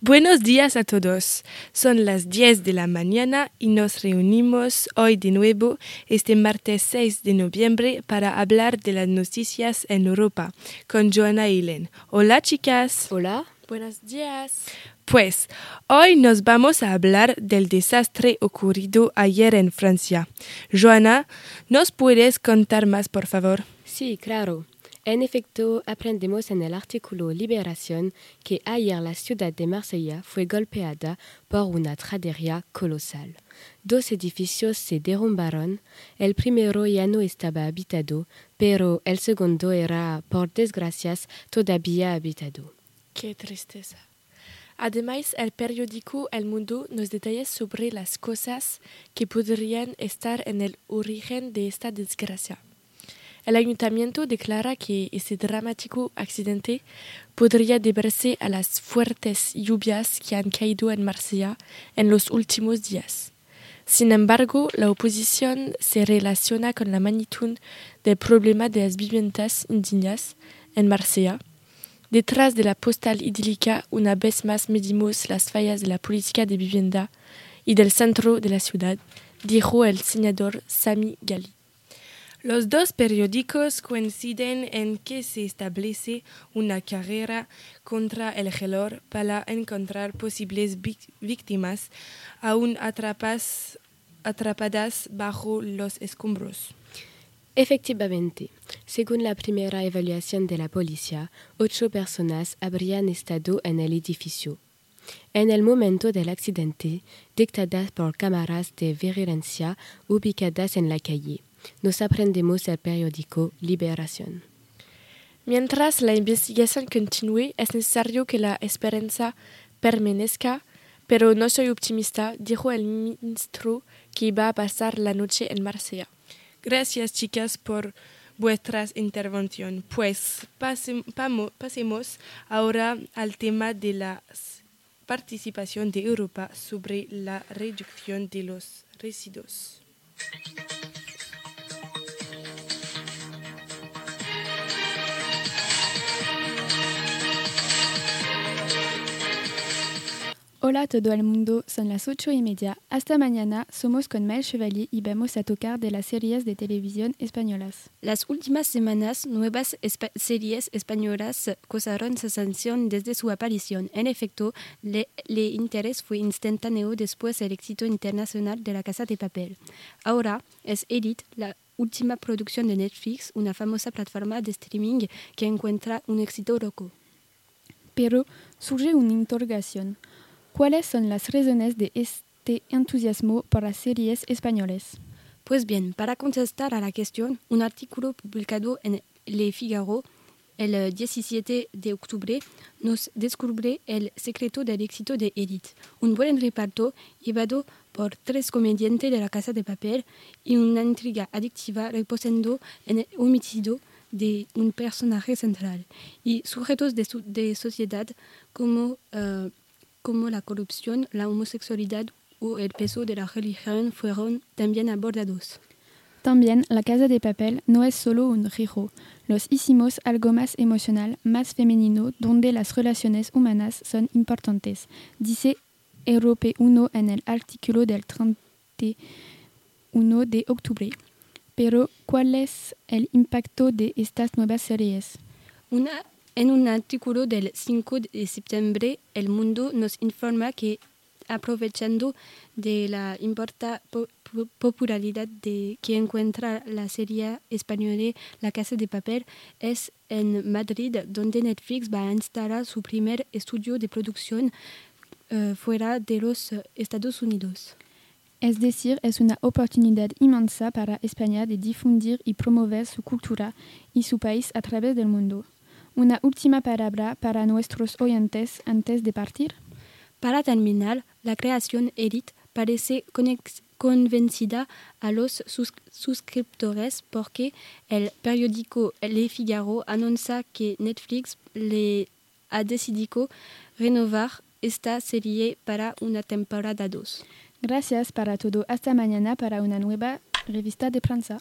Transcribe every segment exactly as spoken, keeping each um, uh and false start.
Buenos días a todos. Son las diez de la mañana y nos reunimos hoy de nuevo este martes seis de noviembre para hablar de las noticias en Europa con Joana y Len. Hola chicas. Hola. Buenos días. Pues hoy nos vamos a hablar del desastre ocurrido ayer en Francia. Joana, ¿nos puedes contar más, por favor? Sí, claro. En efecto, aprendemos en el artículo Liberación que ayer la ciudad de Marsella fue golpeada por una tragedia colosal. Dos edificios se derrumbaron. El primero ya no estaba habitado, pero el segundo era, por desgracia, todavía habitado. Qué tristeza. Además, el periódico El Mundo nos detalla sobre las cosas que podrían estar en el origen de esta desgracia. El ayuntamiento declara que este dramático accidente podría deberse a las fuertes lluvias que han caído en Marsella en los últimos días. Sin embargo, la oposición se relaciona con la magnitud del problema de las viviendas indignas en Marsella. Detrás de la postal idílica, una vez más medimos las fallas de la política de vivienda y del centro de la ciudad, dijo el senador Sami Ghali. Los dos periódicos coinciden en que se establece una carrera contra el reloj para encontrar posibles víctimas aún atrapas, atrapadas bajo los escombros. Efectivamente, según la primera evaluación de la policía, ocho personas habrían estado en el edificio. En el momento del accidente, dictadas por cámaras de vigilancia ubicadas en la calle, nos aprendemos el periódico Liberación. Mientras la investigación continúe, es necesario que la esperanza permanezca, pero no soy optimista, dijo el ministro que iba a pasar la noche en Marsella. Gracias, chicas, por vuestras intervenciones. Pues pase, pamo, pasemos ahora al tema de la participación de Europa sobre la reducción de los residuos. Hola a todo el mundo, son las ocho y media. Hasta mañana, somos con Mael Chevalier y vamos a tocar de las series de televisión españolas. Las últimas semanas, nuevas espa- series españolas causaron sensación desde su aparición. En efecto, el interés fue instantáneo después del éxito internacional de La Casa de Papel. Ahora es Elite, la última producción de Netflix, una famosa plataforma de streaming que encuentra un éxito loco. Pero surge una interrogación. ¿Cuáles son las razones de este entusiasmo por las series españolas? Pues bien, para contestar a la cuestión, un artículo publicado en Le Figaro el diecisiete de octubre nos descubre el secreto del éxito de Elite. Un buen reparto llevado por tres comediantes de La Casa de Papel y una intriga adictiva reposando en el homicidio de un personaje central y sujetos de, su- de sociedad como... Uh, como la corrupción, la homosexualidad o el peso de la religión fueron también abordados. También La Casa de Papel no es solo un giro. Los hicimos algo más emocional, más femenino, donde las relaciones humanas son importantes, dice Europe uno en el artículo del treinta y uno de octubre. Pero, ¿cuál es el impacto de estas nuevas series? Una En un artículo del cinco de septiembre, El Mundo nos informa que, aprovechando de la importante po- po- popularidad de que encuentra la serie española La Casa de Papel, es en Madrid donde Netflix va a instalar su primer estudio de producción uh, fuera de los uh, Estados Unidos. Es decir, es una oportunidad inmensa para España de difundir y promover su cultura y su país a través del mundo. Una última palabra para nuestros oyentes antes de partir. Para terminar, la creación Elite parece conex- convencida a los sus- suscriptores porque el periódico Le Figaro anuncia que Netflix le ha decidido renovar esta serie para una temporada dos. Gracias para todo. Hasta mañana para una nueva revista de prensa.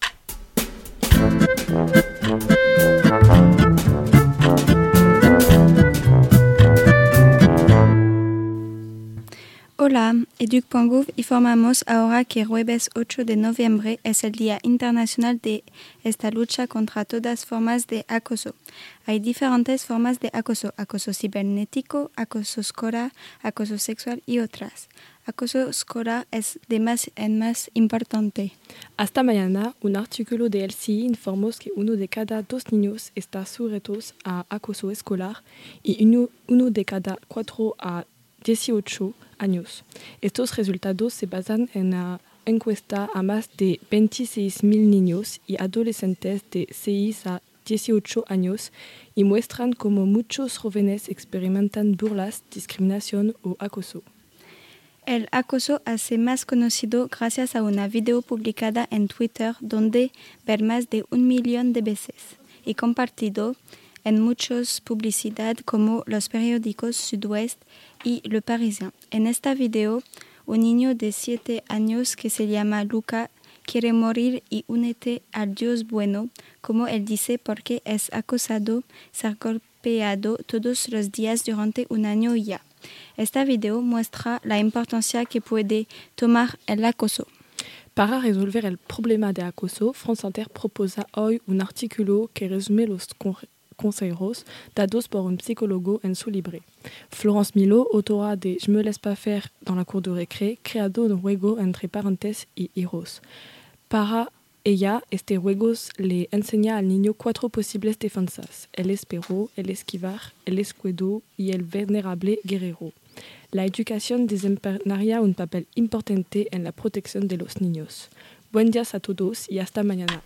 Hola, Educ.gov informamos ahora que jueves ocho de noviembre es el Día Internacional de esta lucha contra todas formas de acoso. Hay diferentes formas de acoso, acoso cibernético, acoso escolar, acoso sexual y otras. Acoso escolar es de más en más importante. Hasta mañana, un artículo de L C I informó que uno de cada dos niños está sujeto a acoso escolar y uno, uno de cada cuatro a dieciocho años. Estos resultados se basan en la encuesta a más de veintiséis mil niños y adolescentes de seis a dieciocho años y muestran cómo muchos jóvenes experimentan burlas, discriminación o acoso. El acoso hace más conocido gracias a una video publicada en Twitter donde ver más de un millón de veces y compartido en muchas publicidades como los periódicos Sud-Ouest y Le Parisien. En esta video, un niño de siete años que se llama Luca quiere morir y únete al Dios bueno, como él dice, porque es acosado, ser golpeado todos los días durante un año ya. Esta video muestra la importancia que puede tomar el acoso. Para resolver el problema de acoso, France Inter proposa hoy un artículo que resume los consejos dados por un psicólogo en su libro. Florence Milo, autora de Je me laisse pas faire dans la cour de récré, creado un juego entre parentes y hijos. Para ella, este juego le enseña al niño cuatro posibles defensas: el espero, el esquivar, el escudo y el venerable guerrero. La educación desempeñaría un papel importante en la protección de los niños. Buen día a todos y hasta mañana.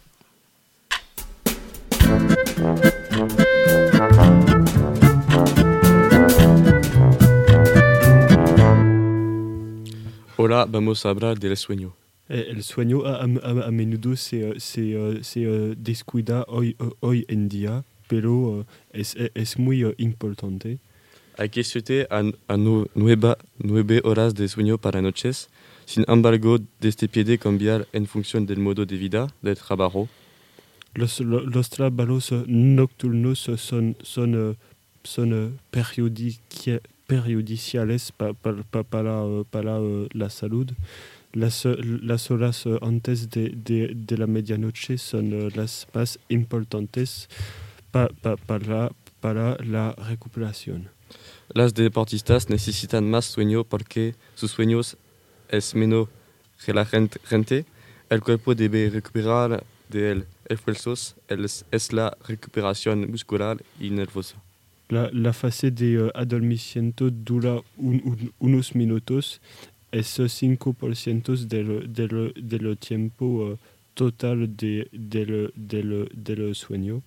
Hola, vamos a hablar del sueño. El sueño a, a, a menudo se, se, se descuida hoy, hoy en día, pero es, es muy importante. Hay que siete a, a nueve, nueve horas de sueño para noches. Sin embargo, este puede cambiar en función del modo de vida, del trabajo. Los, los, los trabajos nocturnos son, son, son periodici, periodiciales pa, pa, pa, para, para la salud. Las, las horas antes de, de, de la medianoche son las más importantes pa, pa, para, para la recuperación. Las deportistas necesitan más sueño porque sus sueños es menos relajante. El cuerpo debe recuperar de esfuerzos, es la recuperación muscular y nerviosa. La, la fase de uh, adormecimiento dura un, un, unos minutos. Es cinco por ciento del, del, del tiempo uh, total de, del, del, del sueño.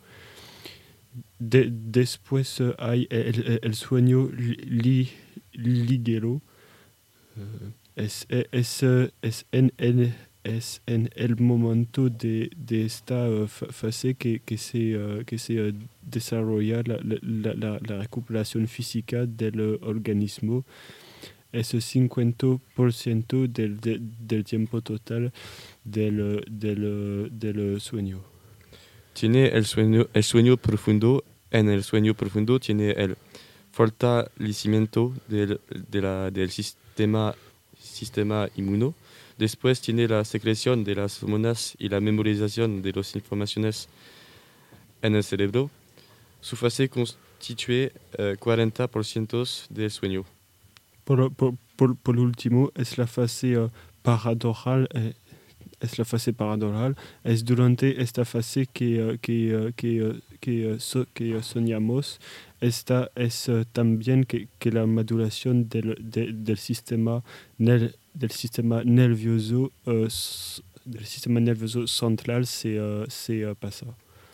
De, después uh, hay el, el sueño li, ligero. Uh, es, es, es, en, en, es en el momento de, de esta uh, fase que, que se, uh, que se uh, desarrolla la, la, la, la recuperación física del organismo. Es cincuenta por ciento del, de, del tiempo total del, del, del sueño. Tiene el sueño, el sueño profundo. En el sueño profundo tiene el fortalecimiento del, de la, del sistema, sistema inmuno. Después tiene la secreción de las hormonas y la memorización de las informaciones en el cerebro. Su fase constituye eh, cuarenta por ciento del sueño. Por, por, por, por último, es la fase uh, paradorral. Eh, es la fase paradorral. Es durante esta fase que, uh, que, uh, que, uh, que, uh, so, que uh, soñamos. Esta es uh, también que, que la maduración del, de, del, sistema, nel, del sistema nervioso uh, del sistema nervioso central se, uh, se uh, pasa.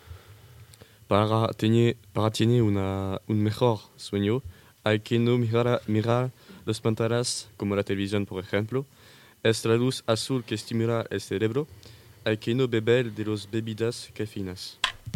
Para tener, para tener una, un mejor sueño, hay que no mirar, mirar las pantallas como la televisión, por ejemplo. Es la luz azul que estimula el cerebro. Hay que no beber de las bebidas cafeínas.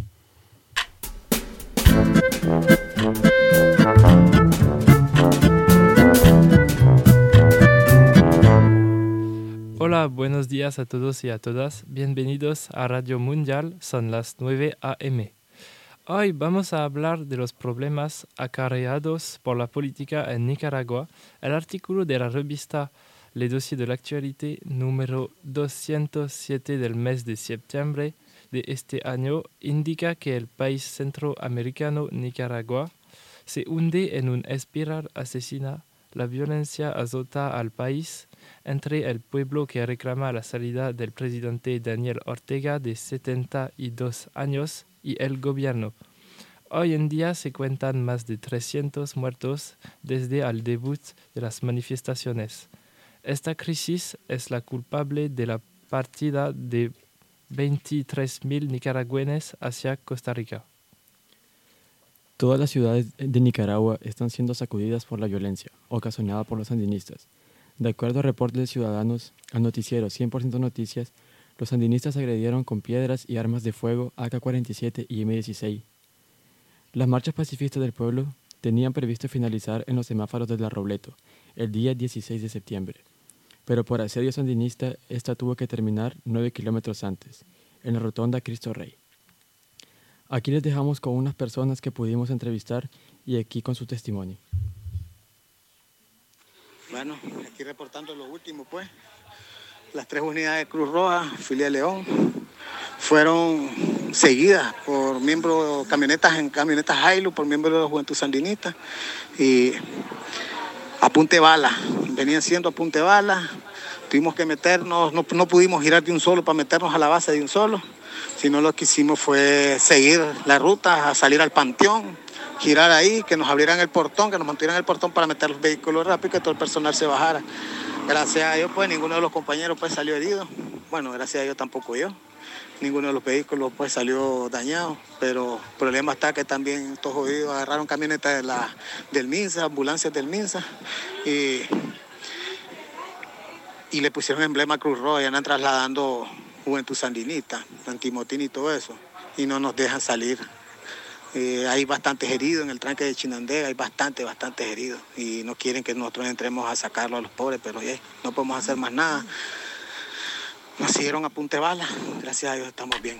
Hola, buenos días a todos y a todas. Bienvenidos a Radio Mundial. Son las nueve a eme. Hoy vamos a hablar de los problemas acarreados por la política en Nicaragua. El artículo de la revista Le Dossier de l'actualité número doscientos siete del mes de septiembre de este año indica que el país centroamericano Nicaragua se hunde en una espiral asesina. La violencia azota al país entre el pueblo que reclama la salida del presidente Daniel Ortega de setenta y dos años y el gobierno. Hoy en día se cuentan más de trescientos muertos desde el debut de las manifestaciones. Esta crisis es la culpable de la partida de veintitrés mil nicaragüenses hacia Costa Rica. Todas las ciudades de Nicaragua están siendo sacudidas por la violencia ocasionada por los sandinistas. De acuerdo a reportes de ciudadanos al noticiero cien por ciento Noticias, los sandinistas agredieron con piedras y armas de fuego A K cuarenta y siete y M dieciséis. Las marchas pacifistas del pueblo tenían previsto finalizar en los semáforos de La Robledo el día dieciséis de septiembre, pero por asedio sandinista esta tuvo que terminar nueve kilómetros antes, en la rotonda Cristo Rey. Aquí les dejamos con unas personas que pudimos entrevistar y aquí con su testimonio. Bueno, aquí reportando lo último, pues. Las tres unidades de Cruz Roja, filial León, fueron seguidas por miembros, camionetas en camionetas Hilux, por miembros de la Juventud Sandinista, y a punta de bala, venían siendo a punta de bala. Tuvimos que meternos, no, no pudimos girar de un solo para meternos a la base de un solo, sino lo que hicimos fue seguir la ruta, a salir al panteón, girar ahí, que nos abrieran el portón, que nos mantuvieran el portón para meter los vehículos rápido y que todo el personal se bajara. Gracias a Dios, pues, ninguno de los compañeros pues salió herido. Bueno, gracias a Dios tampoco yo. Ninguno de los vehículos pues salió dañado, pero el problema está que también estos jodidos agarraron camionetas de la, del MINSA, ambulancias del MINSA, y, y le pusieron emblema Cruz Roja y andan trasladando Juventud Sandinista, Antimotín y todo eso, y no nos dejan salir. Eh, hay bastantes heridos en el tranque de Chinandega, hay bastantes, bastantes heridos, y no quieren que nosotros entremos a sacarlo a los pobres, pero yeah, no podemos hacer más nada. Nos siguieron a punta de bala, gracias a Dios estamos bien.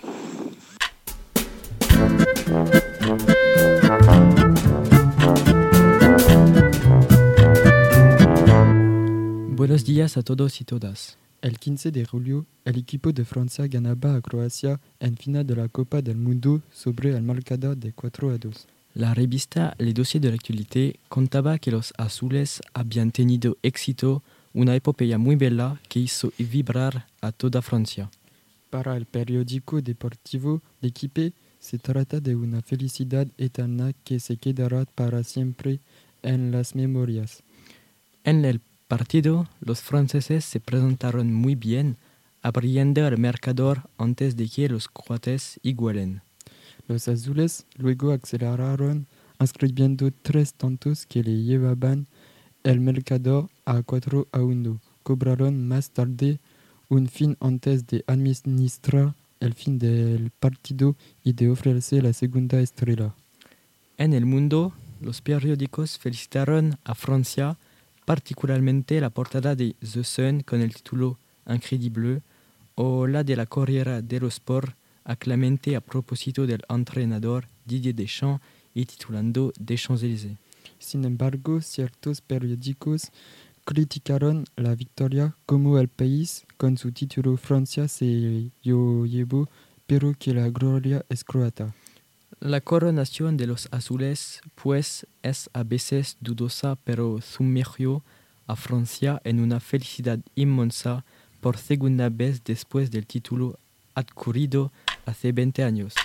Buenos días a todos y todas. El quince de julio, el equipo de Francia ganaba a Croacia en final de la Copa del Mundo sobre el marcador de cuatro a dos. La revista Le Dossier de l'actualité contaba que los azules habían tenido éxito, una epopeya muy bella que hizo vibrar a toda Francia. Para el periódico deportivo L'Équipe, se trata de una felicidad eterna que se quedará para siempre en las memorias. En el partido, los franceses se presentaron muy bien, abriendo el marcador antes de que los croatas igualen. Los azules luego aceleraron, escribiendo tres tantos que le llevaban el marcador a cuatro a uno. Cobraron más tarde un fin antes de administrar el fin del partido y de ofrecer la segunda estrella. En el mundo, los periódicos felicitaron a Francia, particularmente la portada de The Sun con el título Incrédible o la de la Corriere dello Sport, aclamante a propósito del entrenador Didier Deschamps y titulando Des Champs-Élysées. Sin embargo, ciertos periódicos criticaron la victoria, como El País, con su título Francia se lo llevó, pero que la gloria es croata. La coronación de los azules, pues, es a veces dudosa, pero sumergió a Francia en una felicidad inmensa por segunda vez después del título adquirido hace veinte años.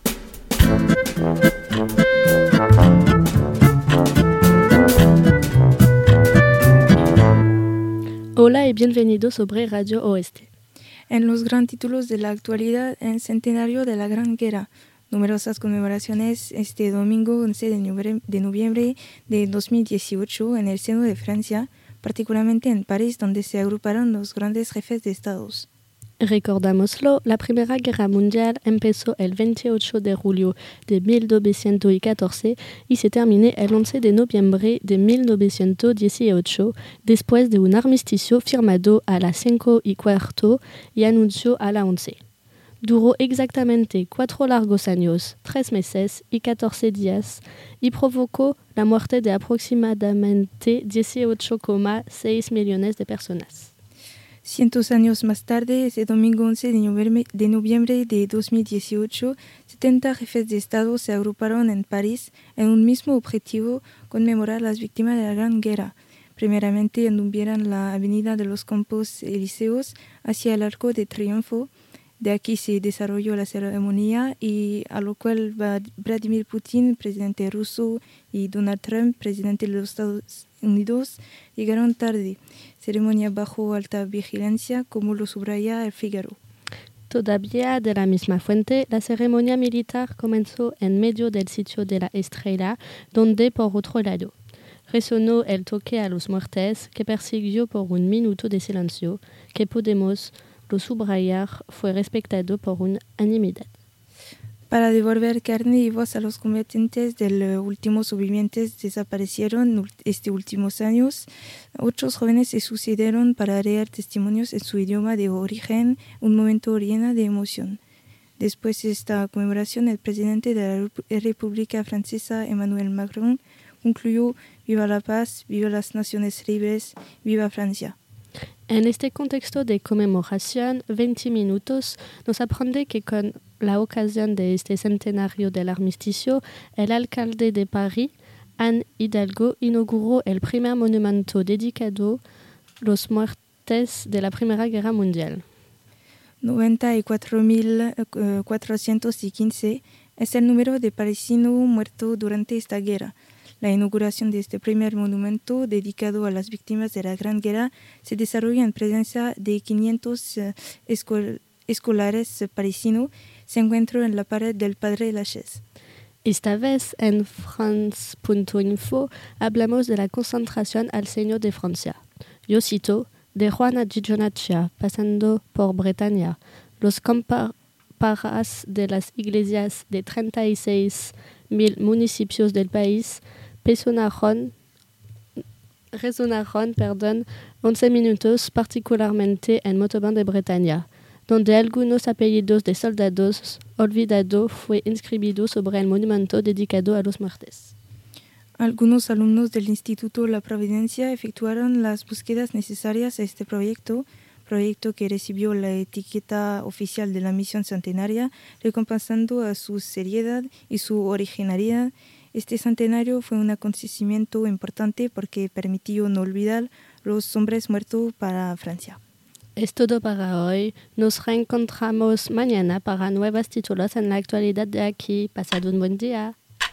Hola y bienvenidos sobre Radio Oeste. En los grandes títulos de la actualidad, en centenario de la Gran Guerra, numerosas conmemoraciones este domingo once de noviembre de dos mil dieciocho en el seno de Francia, particularmente en París, donde se agruparon los grandes jefes de estados. Recordámoslo, la Primera Guerra Mundial empezó el veintiocho de julio de mil novecientos catorce y se terminó el once de noviembre de mil novecientos dieciocho, después de un armisticio firmado a las cinco y cuarto y anunció a las once. duró exactamente cuatro largos años, tres meses y catorce días, y provocó la muerte de aproximadamente dieciocho coma seis millones de personas. Cientos años más tarde, ese domingo once de noviembre, de noviembre de dos mil dieciocho, setenta jefes de Estado se agruparon en París en un mismo objetivo: conmemorar las víctimas de la Gran Guerra. Primeramente anduvieron la avenida de los Campos Elíseos hacia el Arco de Triunfo. De aquí se desarrolló la ceremonia, y a lo cual Vladimir Putin, presidente ruso, y Donald Trump, presidente de los Estados Unidos, llegaron tarde. Ceremonia bajo alta vigilancia, como lo subraya El Figaro. Todavía de la misma fuente, la ceremonia militar comenzó en medio del sitio de la Estrella, donde, por otro lado, resonó el toque a los muertes, que persiguió por un minuto de silencio, que podemos lo subrayar fue respetado por unanimidad. Para devolver carne y voz a los combatientes de los últimos sobrevivientes desaparecieron estos últimos años, otros jóvenes se sucedieron para leer testimonios en su idioma de origen, un momento lleno de emoción. Después de esta conmemoración, el presidente de la República Francesa, Emmanuel Macron, concluyó: «Viva la paz, viva las naciones libres, viva Francia». En este contexto de conmemoración, veinte minutos nos aprende que con la ocasión de este centenario del armisticio, el alcalde de París, Anne Hidalgo, inauguró el primer monumento dedicado a los muertes de la Primera Guerra Mundial. noventa y cuatro mil cuatrocientos quince es el número de parisinos muertos durante esta guerra. La inauguración de este primer monumento dedicado a las víctimas de la Gran Guerra se desarrolla en presencia de quinientos uh, escol escolares parisinos. Se encuentra en la pared del Padre Lachaise. Esta vez en France punto info hablamos de la concentración al seno de Francia. Yo cito: de Juana Gionaccia, pasando por Bretaña, los comparas de las iglesias de treinta y seis mil municipios del país Resonaron, resonaron perdón, once minutos, particularmente en Montauban de Bretaña, donde algunos apellidos de soldados olvidados fue inscribido sobre el monumento dedicado a los muertes. Algunos alumnos del Instituto La Providencia efectuaron las búsquedas necesarias a este proyecto, proyecto que recibió la etiqueta oficial de la misión centenaria, recompensando a su seriedad y su originalidad. Este centenario fue un acontecimiento importante porque permitió no olvidar los hombres muertos para Francia. Es todo para hoy. Nos reencontramos mañana para nuevos títulos en la actualidad de aquí. Pasad un buen día.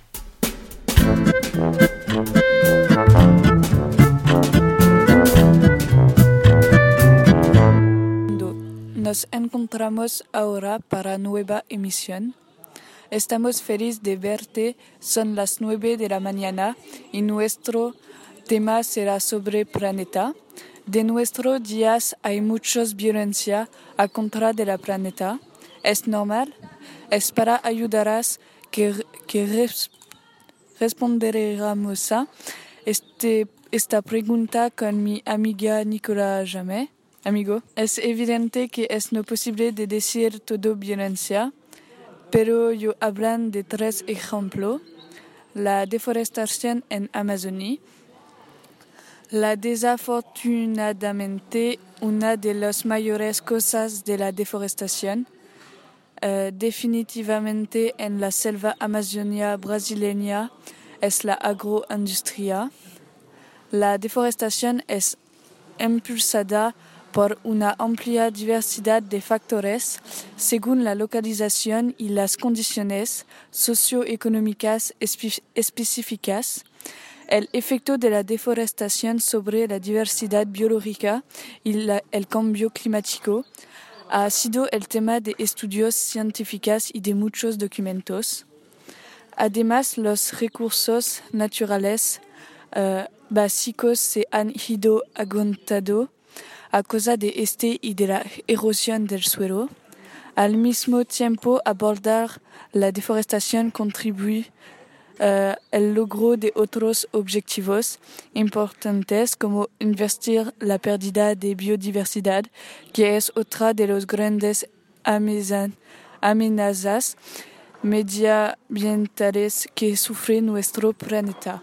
Nos encontramos ahora para nueva emisión. Estamos felices de verte, son las nueve de la mañana y nuestro tema será sobre planeta. De nuestros días hay mucha violencia a contra de la planeta. ¿Es normal? Es para ayudarás que, que res, responderemos a este, esta pregunta con mi amiga Nicolas Jamet. Amigo, es evidente que es no posible de decir todo violencia, pero yo hablan de tres ejemplos: la deforestación en Amazonia, la desafortunadamente una de las mayores causas de la deforestación, uh, definitivamente en la selva amazonia brasileña es la agroindustria. La deforestación es impulsada por una amplia diversidad de factores según la localización y las condiciones socioeconómicas espe- específicas. El efecto de la deforestación sobre la diversidad biológica y la, el cambio climático ha sido el tema de estudios científicos y de muchos documentos. Además, los recursos naturales uh, básicos se han ido agotando a causa de este y de la erosión del suelo. Al mismo tiempo, abordar la deforestación contribuye uh, al logro de otros objetivos importantes como invertir la pérdida de biodiversidad, que es otra de los grandes amenazas medioambientales que sufre nuestro planeta.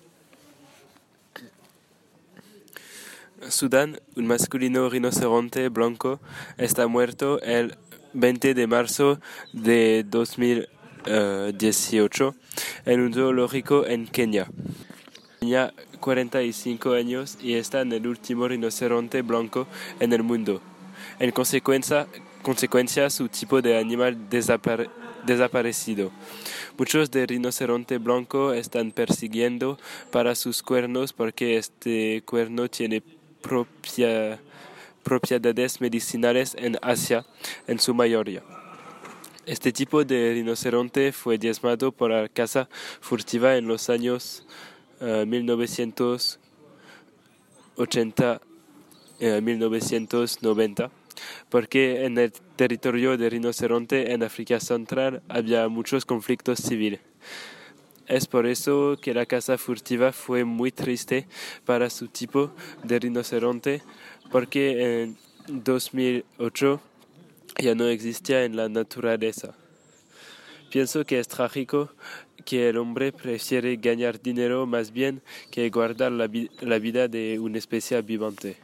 Sudán, un masculino rinoceronte blanco, está muerto el veinte de marzo de dos mil dieciocho en un zoológico en Kenia. Tenía cuarenta y cinco años y está en el último rinoceronte blanco en el mundo. En consecuencia, consecuencia su tipo de animal desapare- desaparecido. Muchos de rinoceronte blanco están persiguiendo para sus cuernos porque este cuerno tiene propia, propiedades medicinales en Asia en su mayoría. Este tipo de rinoceronte fue diezmado por la caza furtiva en los años uh, mil novecientos ochenta y uh, mil novecientos noventa, porque en el territorio de rinoceronte en África Central había muchos conflictos civiles. Es por eso que la caza furtiva fue muy triste para su tipo de rinoceronte, porque en dos mil ocho ya no existía en la naturaleza. Pienso que es trágico que el hombre prefiere ganar dinero más bien que guardar la, vi- la vida de una especie viviente.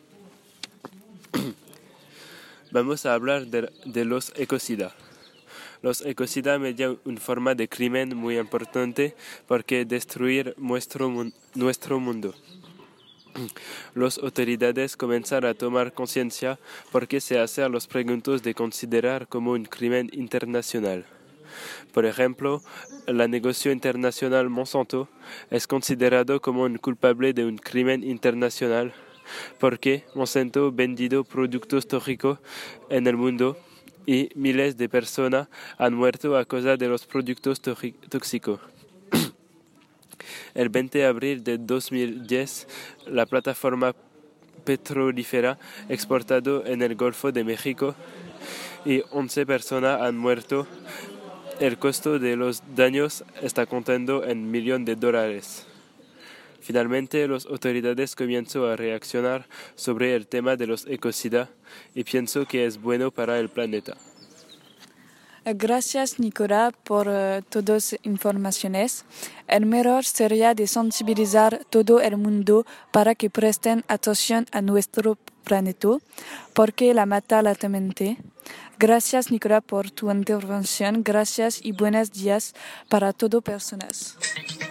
Vamos a hablar de, de los ecocidas. Los ecocidas median una forma de crimen muy importante porque destruir nuestro, mun- nuestro mundo. Las autoridades comienzan a tomar conciencia porque se hacen las preguntas de considerar como un crimen internacional. Por ejemplo, el negocio internacional Monsanto es considerado como un culpable de un crimen internacional porque Monsanto ha vendido productos tóxicos en el mundo y miles de personas han muerto a causa de los productos tóxicos. El veinte de abril de dos mil diez, la plataforma petrolífera exportado en el Golfo de México y once personas han muerto. El costo de los daños está contando en millones de dólares. Finalmente, las autoridades comienzan a reaccionar sobre el tema de los ecocidas y pienso que es bueno para el planeta. Gracias, Nicola, por uh, todas las informaciones. El mejor sería de sensibilizar todo el mundo para que presten atención a nuestro planeta, porque la mata latamente. Gracias, Nicola, por tu intervención. Gracias y buenos días para todas personas.